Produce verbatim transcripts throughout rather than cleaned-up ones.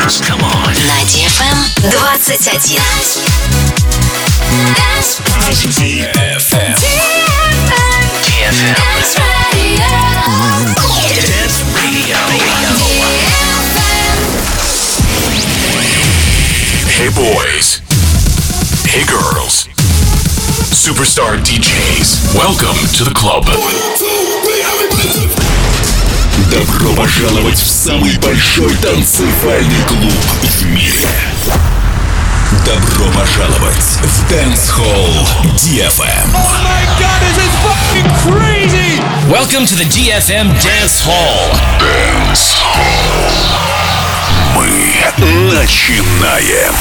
Dance. Come on. На ди эф эм двадцать один. ди эф эм. ди эф эм. Dance Radio. Hey boys. Hey girls. Superstar ди джейс. Welcome to the club. Добро пожаловать в самый большой танцевальный клуб в мире. Добро пожаловать в Dance Hall ди эф эм. Oh my God, this is fucking crazy! Welcome to the ди эф эм Dance Hall. Dance Hall. Мы начинаем.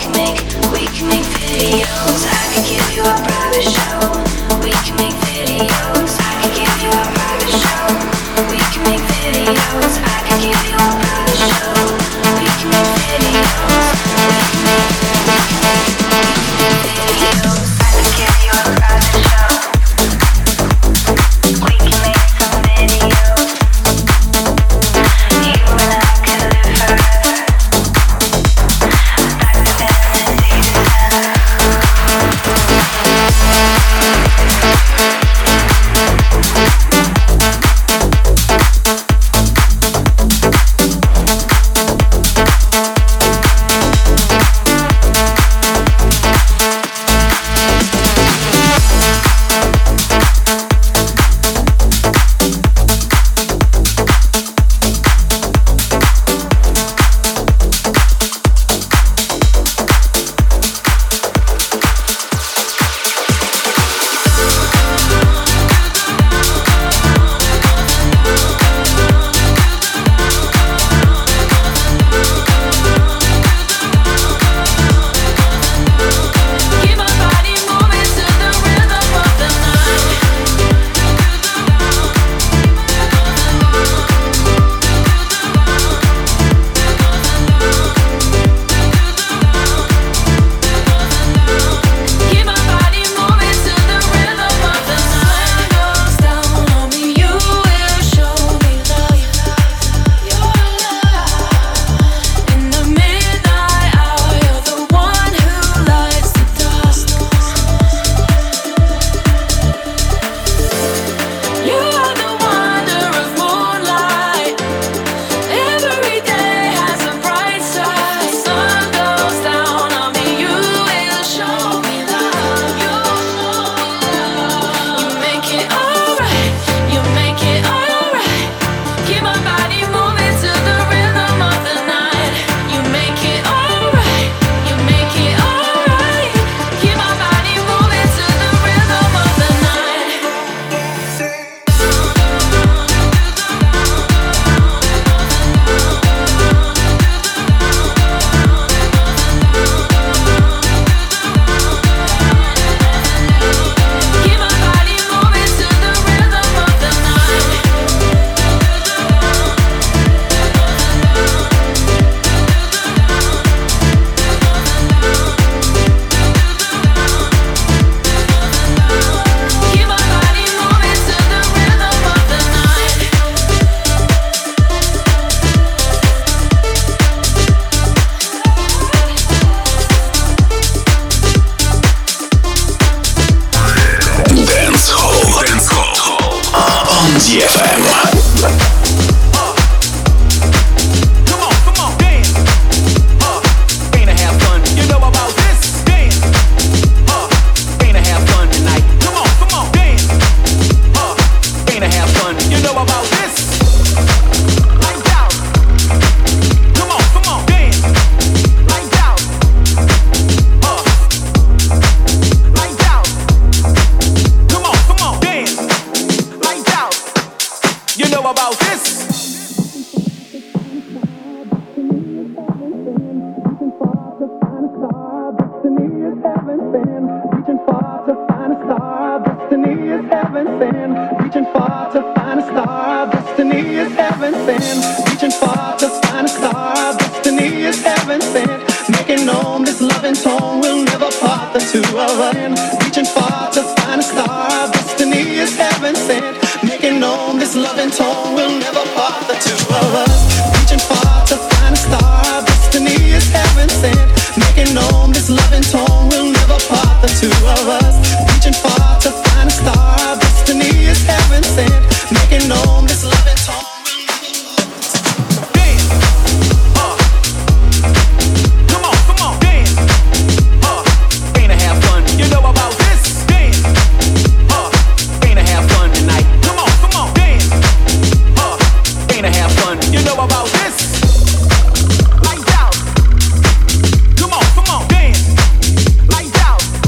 ди эф эм.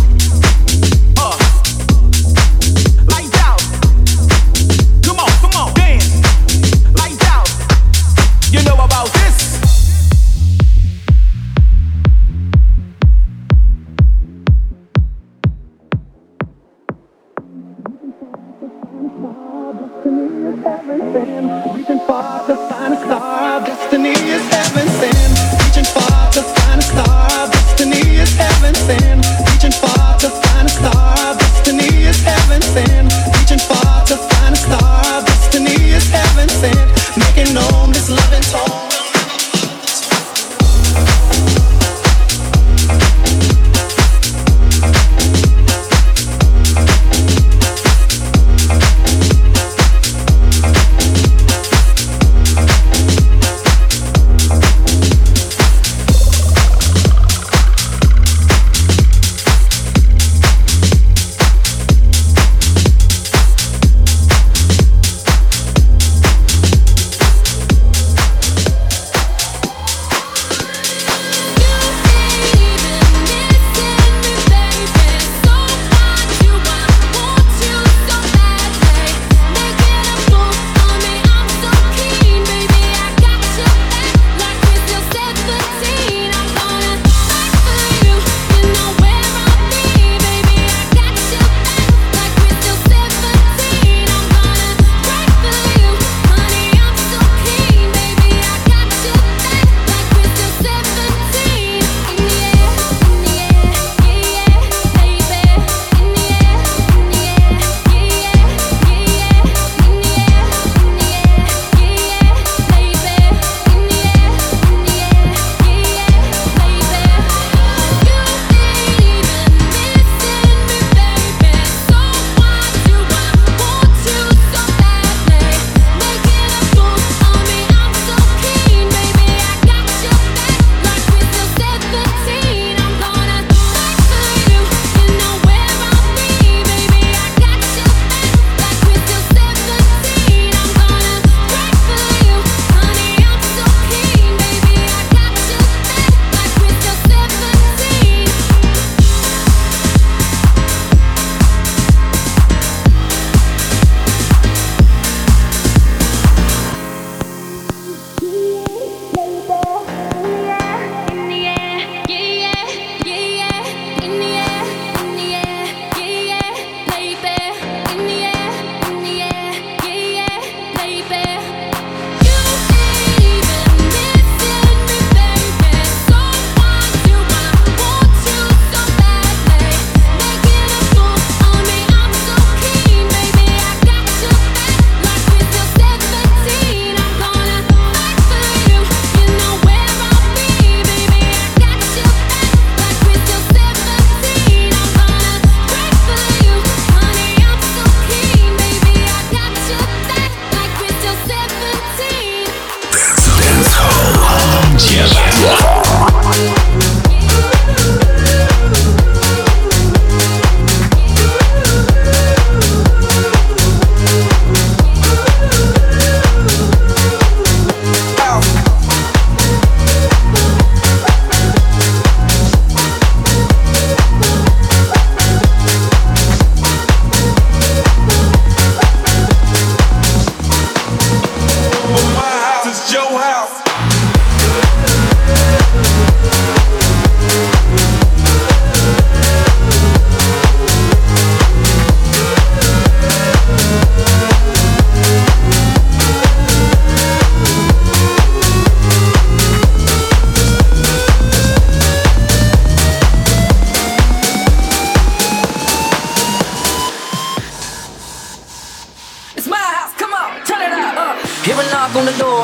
Come on, come on.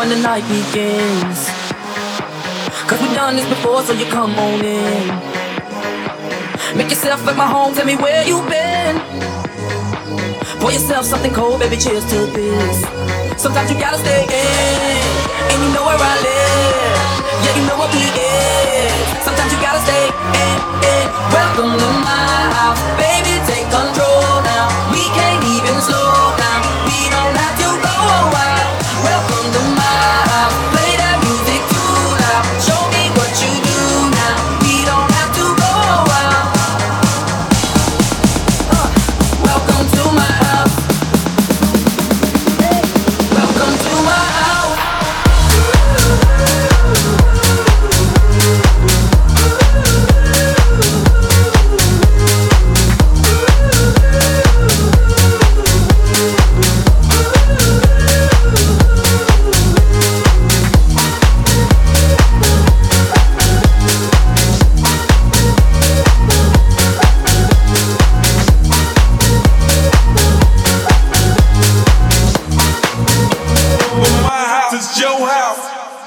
when the night begins. Cause we've done this before, so you come on in. Make yourself like my home, tell me where you've been. Pour yourself something cold, baby, cheers to this. Sometimes you gotta stay in, and you know where I live. Yeah, you know what we is. Sometimes you gotta stay in, in. Welcome to my house, baby, take control now. We can't even slow down, we don't have to go wild. Welcome to my house, play that music too loud. Show me what you do now, we don't have to go wild. uh, Welcome to my house. Hey, welcome to my house. It's your house.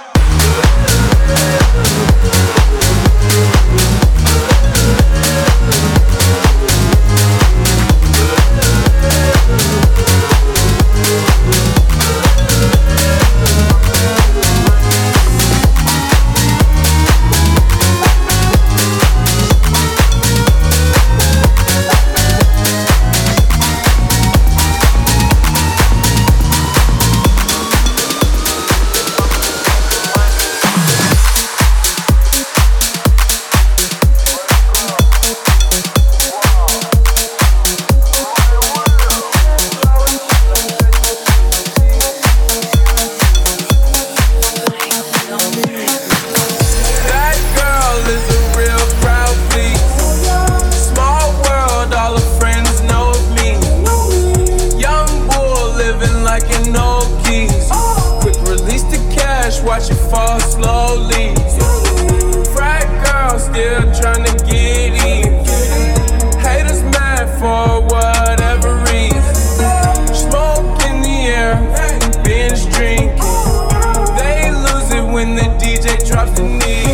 Watch it fall slowly. Frat girl still tryna get in. Haters mad for whatever reason. Smoke in the air, binge drinking. They lose it when the D J drops the knee.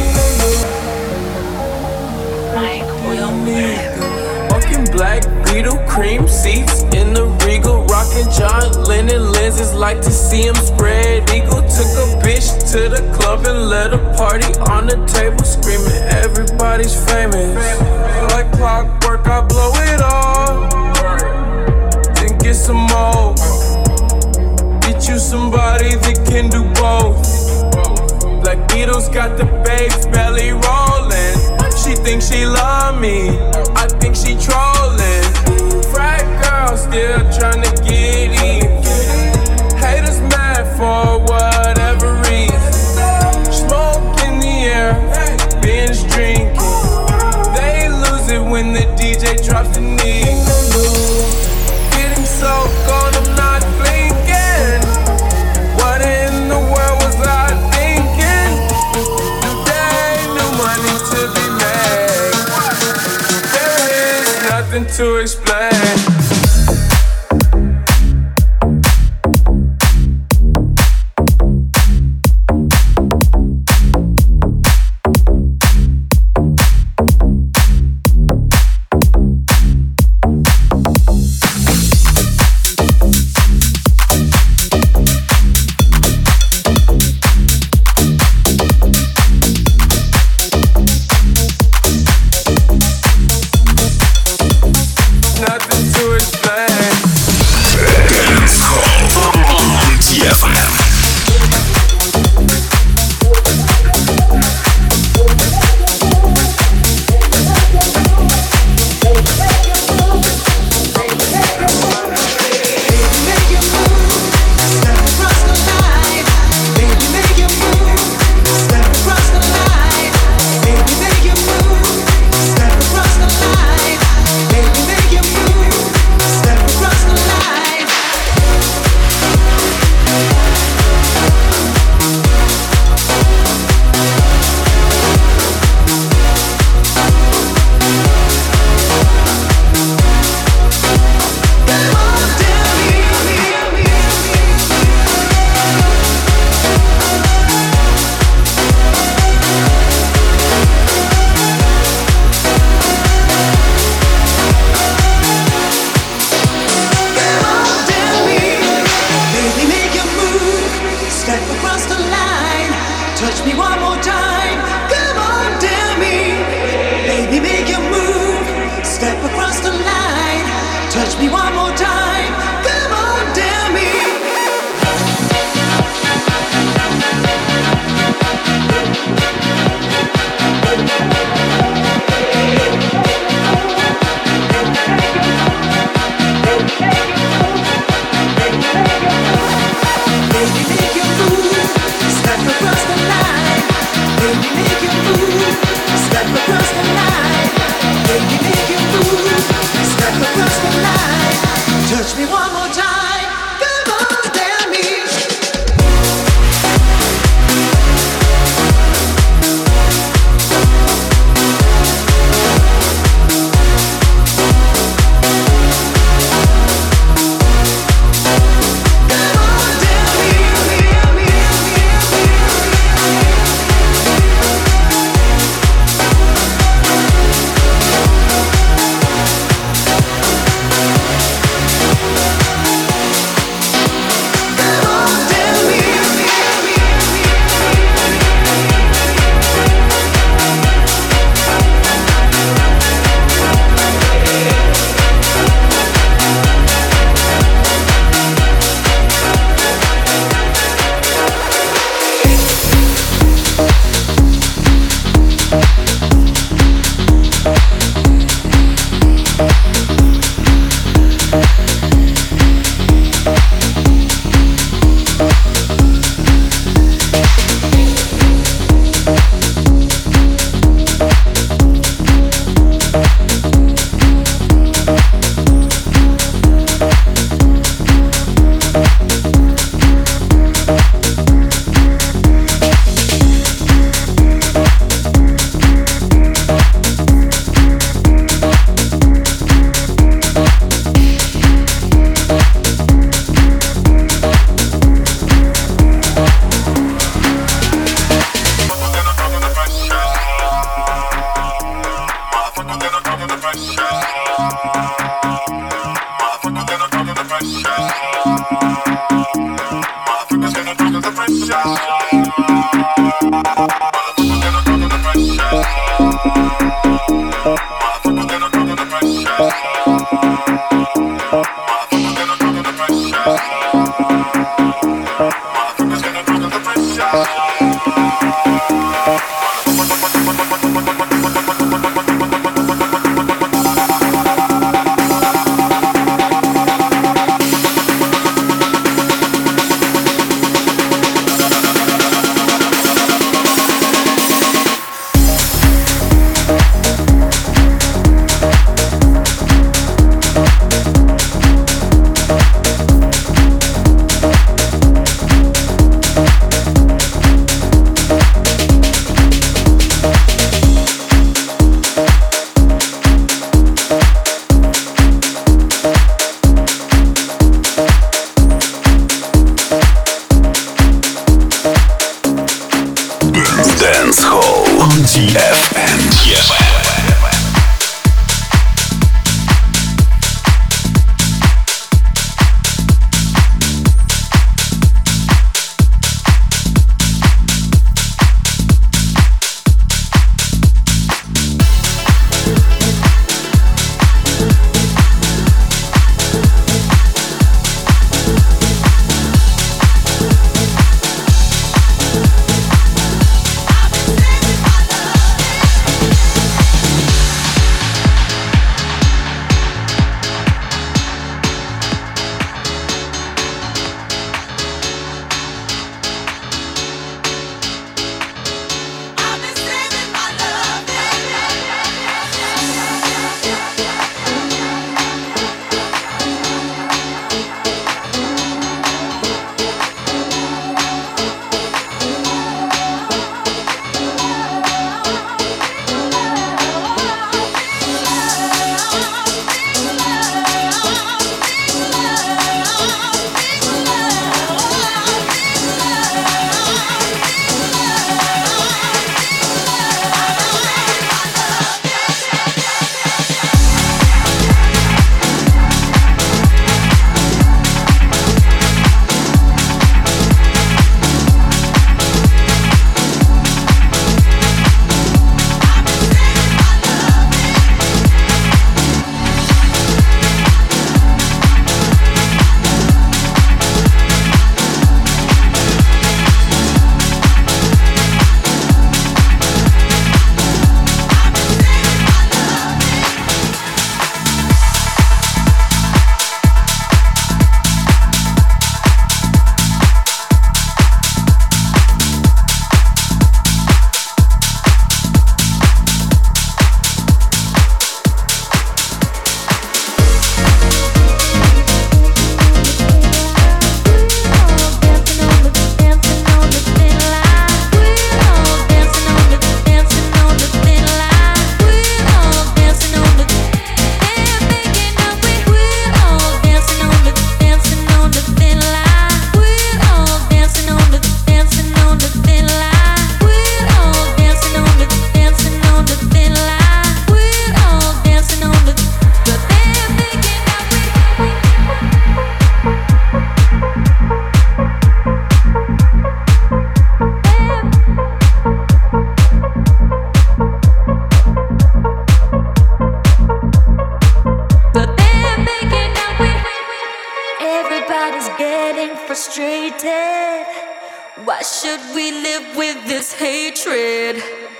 Walking black Beetle, cream seats in the Regal. Rockin' John Lennon lenses, like to see him spread eagle. Took a bitch to the club and let a party on the table, screaming everybody's famous. Like clockwork, I blow it all, then get some more. Get you somebody that can do both. Black Beatles got the babes belly rolling. She thinks she love me, I think she trolling. Frat girl still tryna get in. Haters mad for whatever reason. Smoke in the air, binge drinking. They lose it when the D J drops the knee. Getting so gone, I'm not blinking. What in the world was I thinking? New day, new money to be made. There is nothing to explain. Nothing to frustrated. Why should we live with this hatred?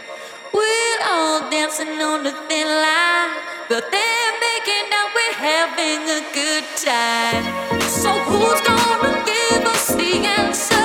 We're all dancing on the thin line, but they're making out we're having a good time. So who's gonna give us the answer?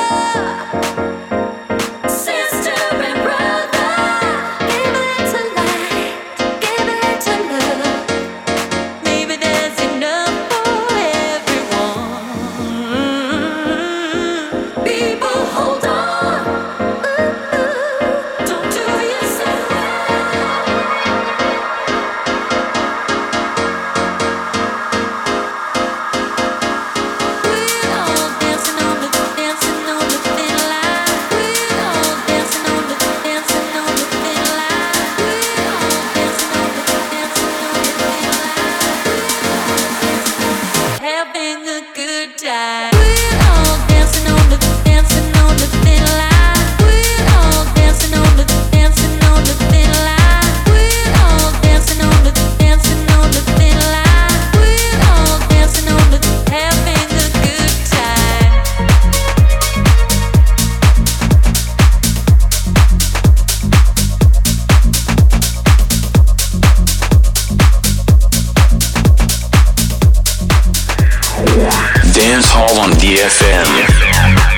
Dancing Dance Hall on D F M.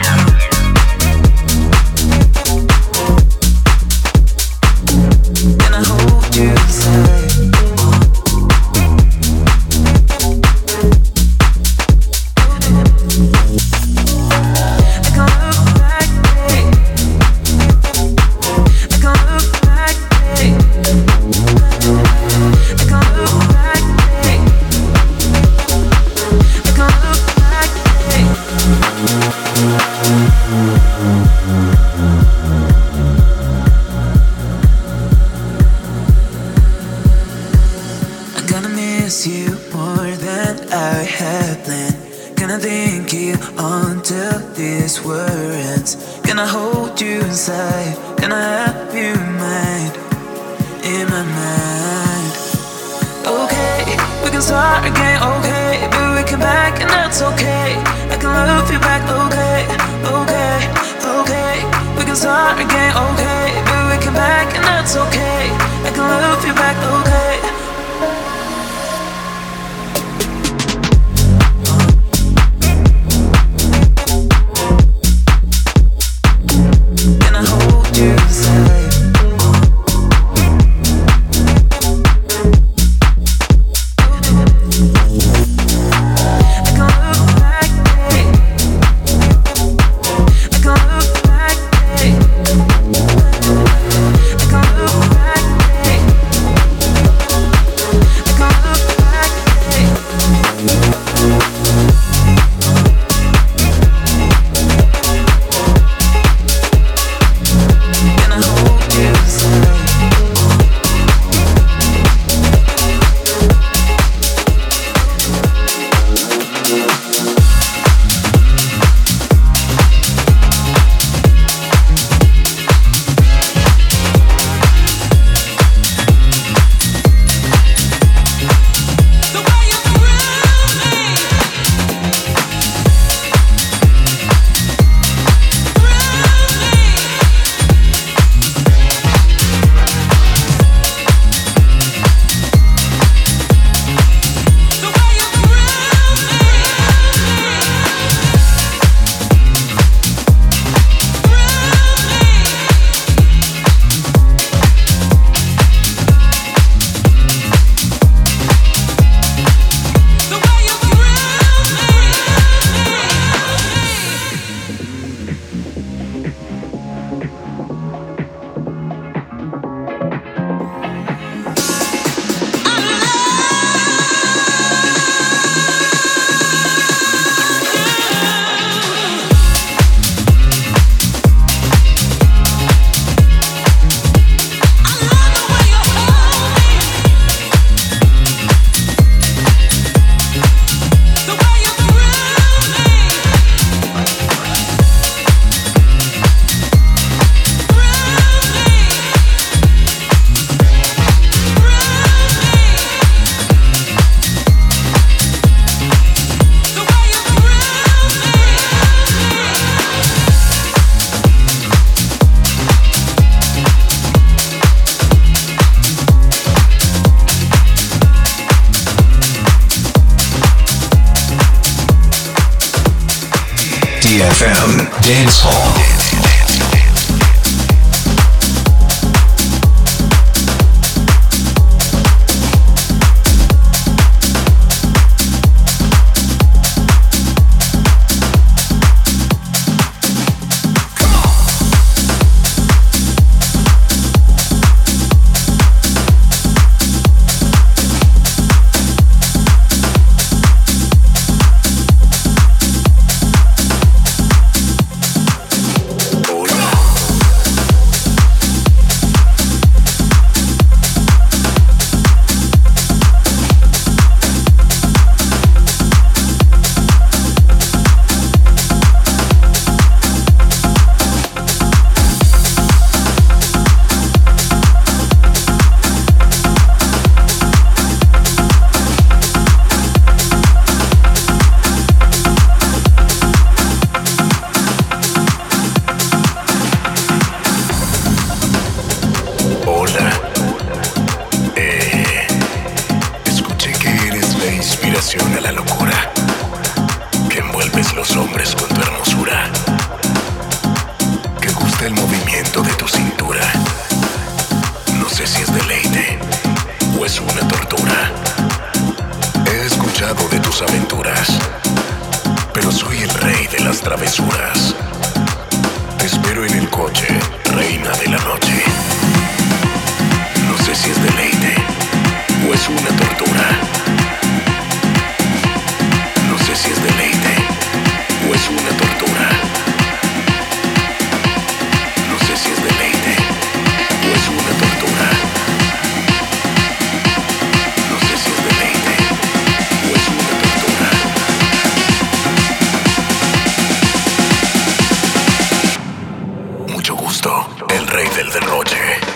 D F M Dance Hall. A la locura que envuelve los hombres con tu hermosura, que gusta el movimiento de tu cintura. No sé si es deleite o es una tortura. He escuchado de tus aventuras, pero soy el rey de las travesuras. Te espero en el coche, reina de la noche. No sé si es deleite o es una tortura. No sé si es deleite o es una tortura. No sé si es deleite o es una tortura. No sé si es deleite o es una tortura. Mucho gusto, el rey del derroche.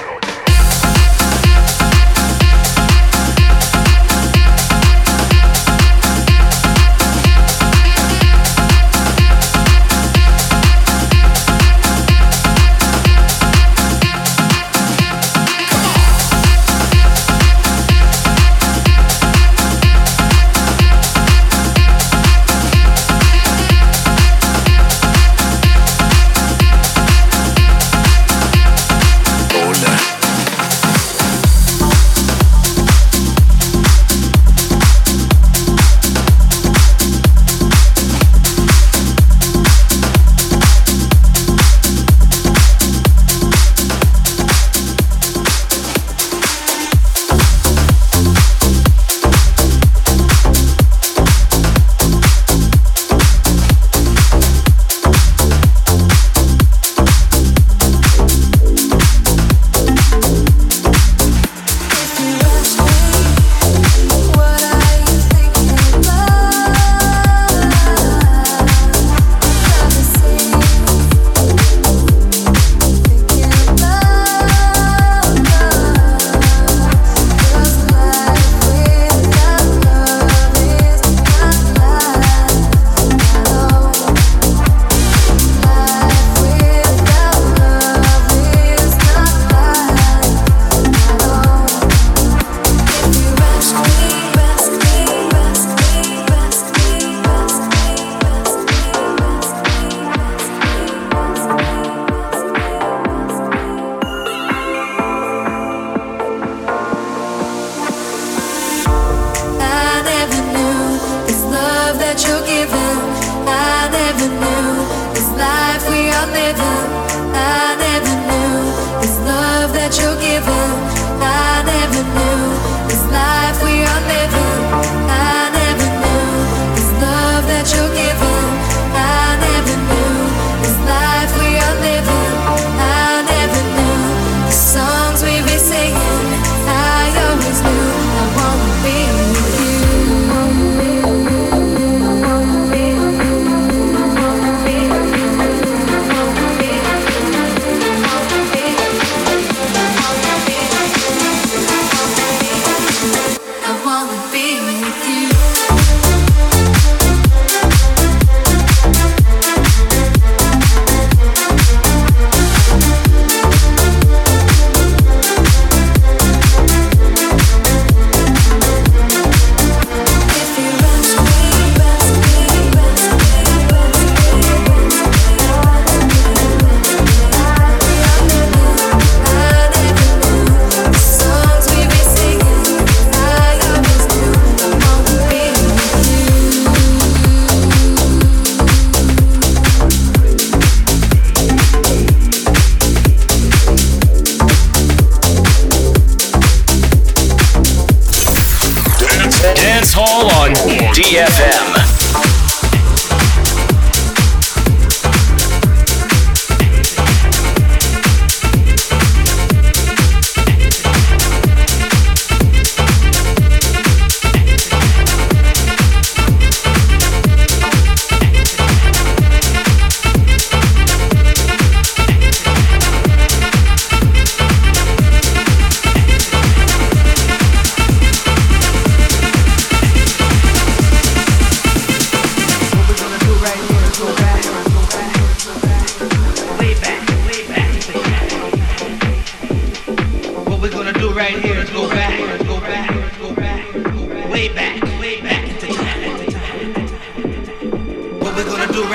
D F M.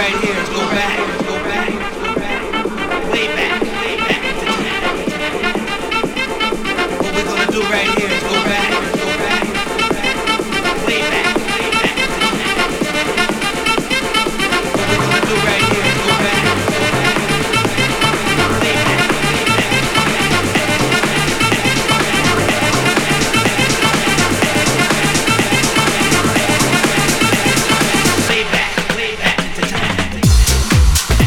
right here is go back, go back, go back, way back, way back into time. What we're gonna do right here is go back, go back, go back, way back, way back into time. What we're gonna do right here is go back, go back, way back, way back. Way back, way back into time.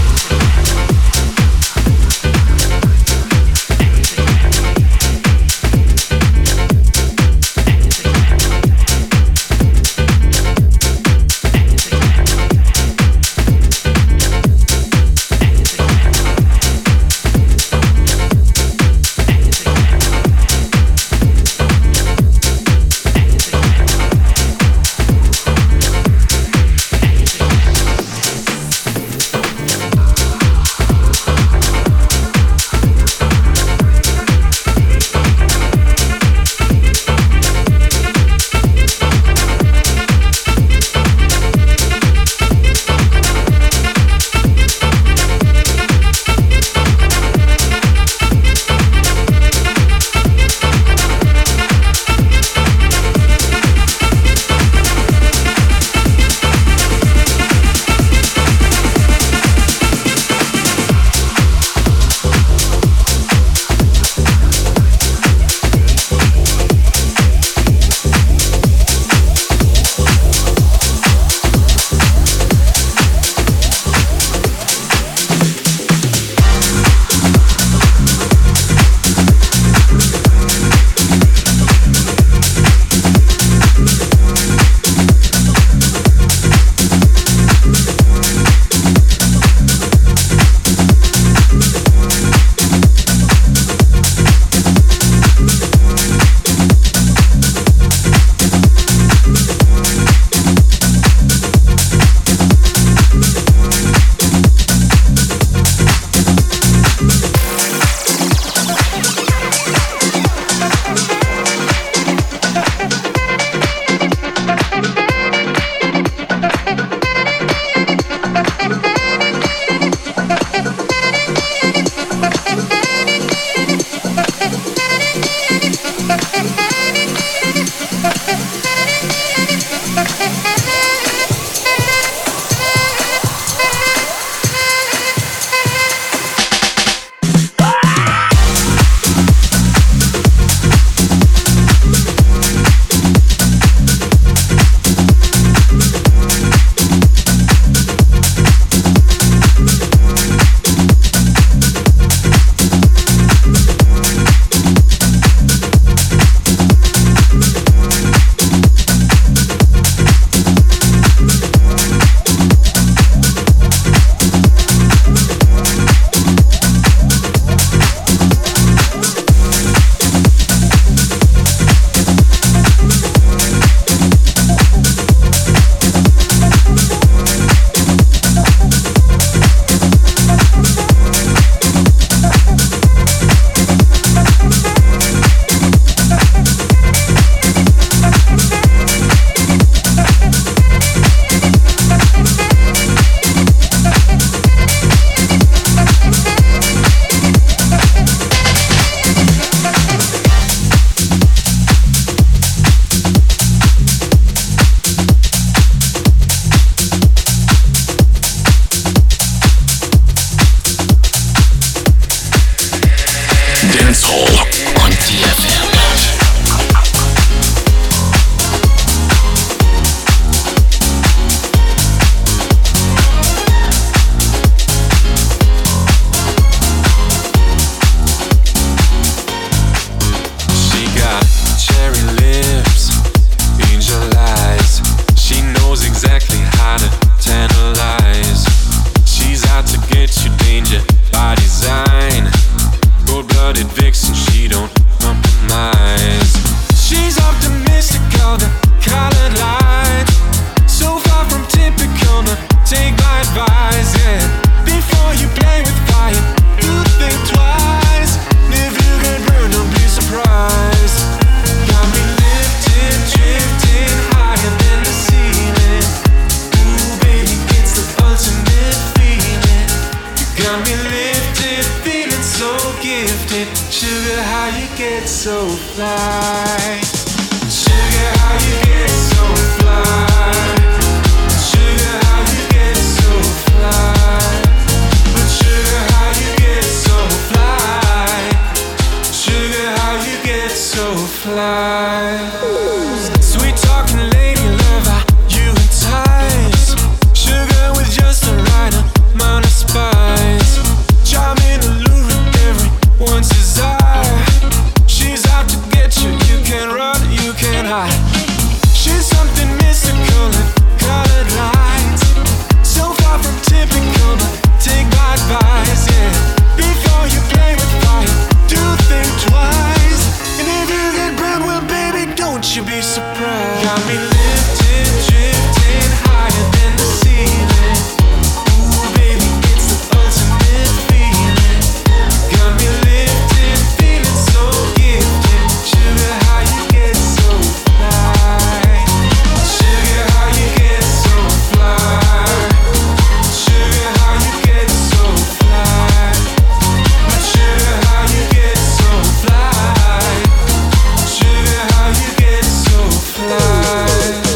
get so fly? Sugar, how you get so fly? Sugar, how you get so fly? But sugar, how you get so fly? Sugar, how you get so fly? Sweet talking lady lover, you entice. Sugar with just the right amount of spice. Charming, alluring, everyone's desire. She's out to get you, you can run, you can hide. She's something mystical and colored lights. So far from typical, but take my advice, yeah. Before you play with fire, do think twice. And if you get burned, well baby, don't you be surprised. Got me lifted, drifting higher than the ceiling. Ooh baby, it's the ultimate feeling. Got me lifted, feeling so gifted. Sugar, how you get so fly? Sugar, how you get so fly? Sugar, how you get so fly? But sugar, how you get so fly? Sugar, how you get so fly?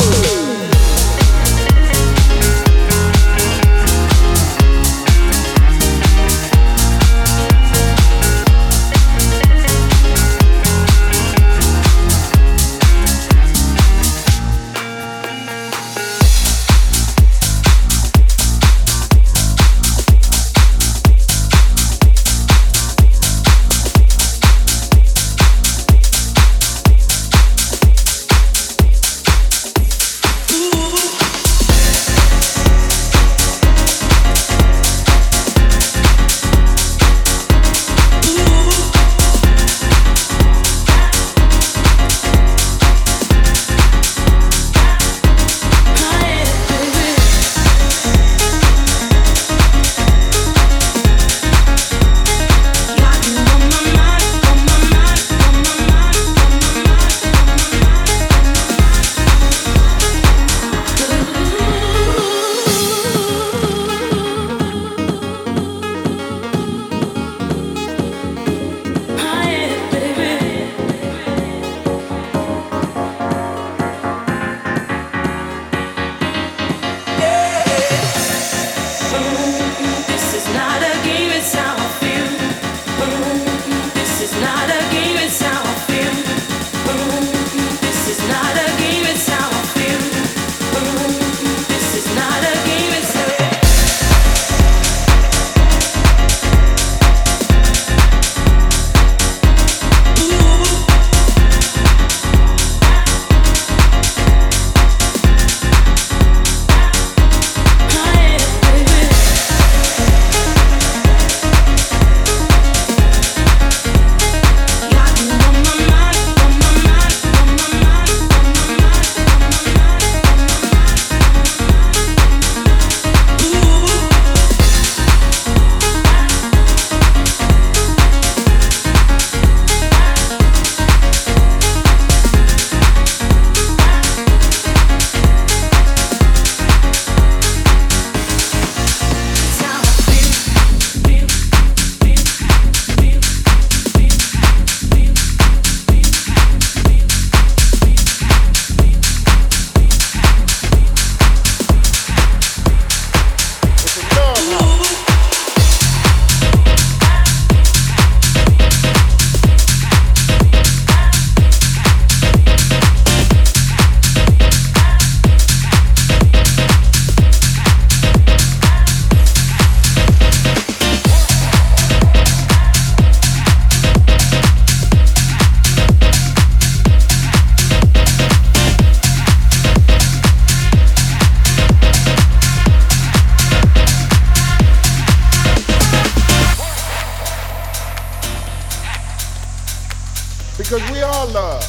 because we all love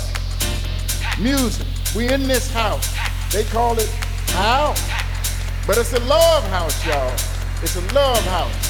music. We in this house. They call it house, but it's a love house, y'all. It's a love house.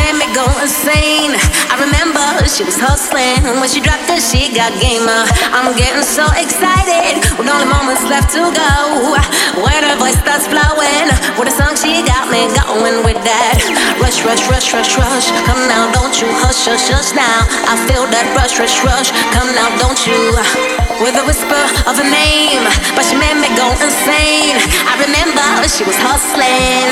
made me go insane. I remember she was hustling. When she dropped it, she got gamer. I'm getting so excited with only moments left to go. When her voice starts flowing, with a song she got me going with that. Rush, rush, rush, rush, rush. Come now, don't you hush, hush, hush now. I feel that rush, rush, rush. Come now, don't you. With a whisper of a name, but she made me go insane. I remember she was hustling.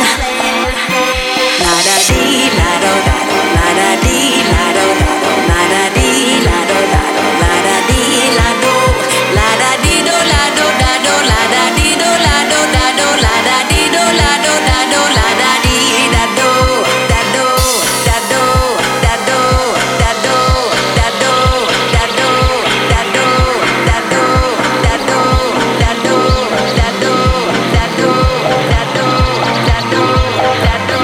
La da dee, la do da do, la da dee, la do da do, la da dee, la do da do, la da dee, la do, la da dee do, la do da do, la da dee do, la do da do, la da dee do, la do da do, la da dee da do, da do, da do, da do, da do, da do, da do, da do, da do, da do, da do, da do, da do, da do, da do, da do, da do.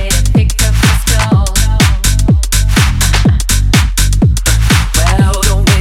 Well, don't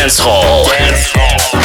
Dance Hall. Dance Hall.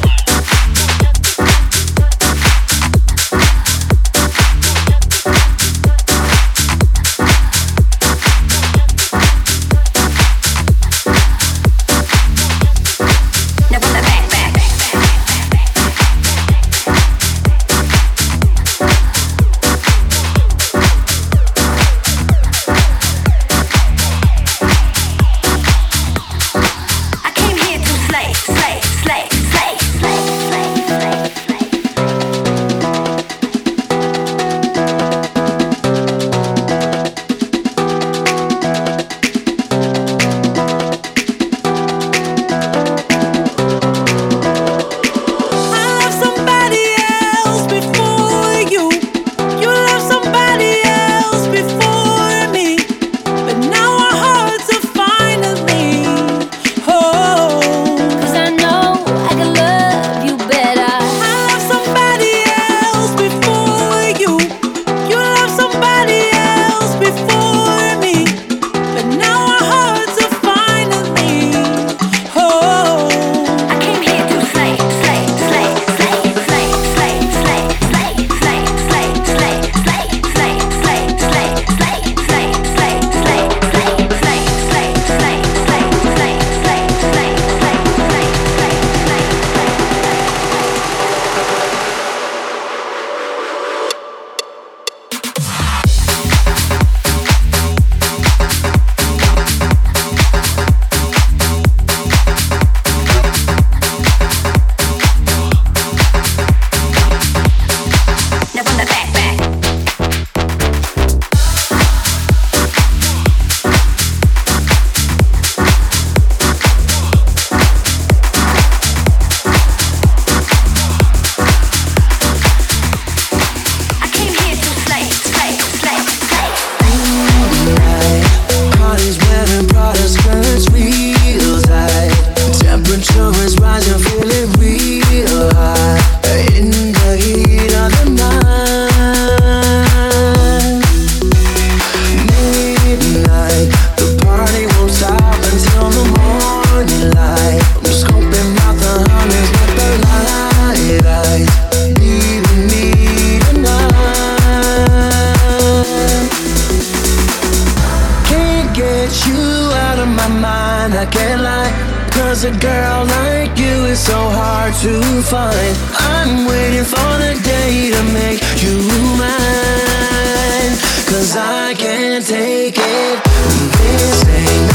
Cause a girl like you is so hard to find. I'm waiting for the day to make you mine. Cause I can't take it. This ain't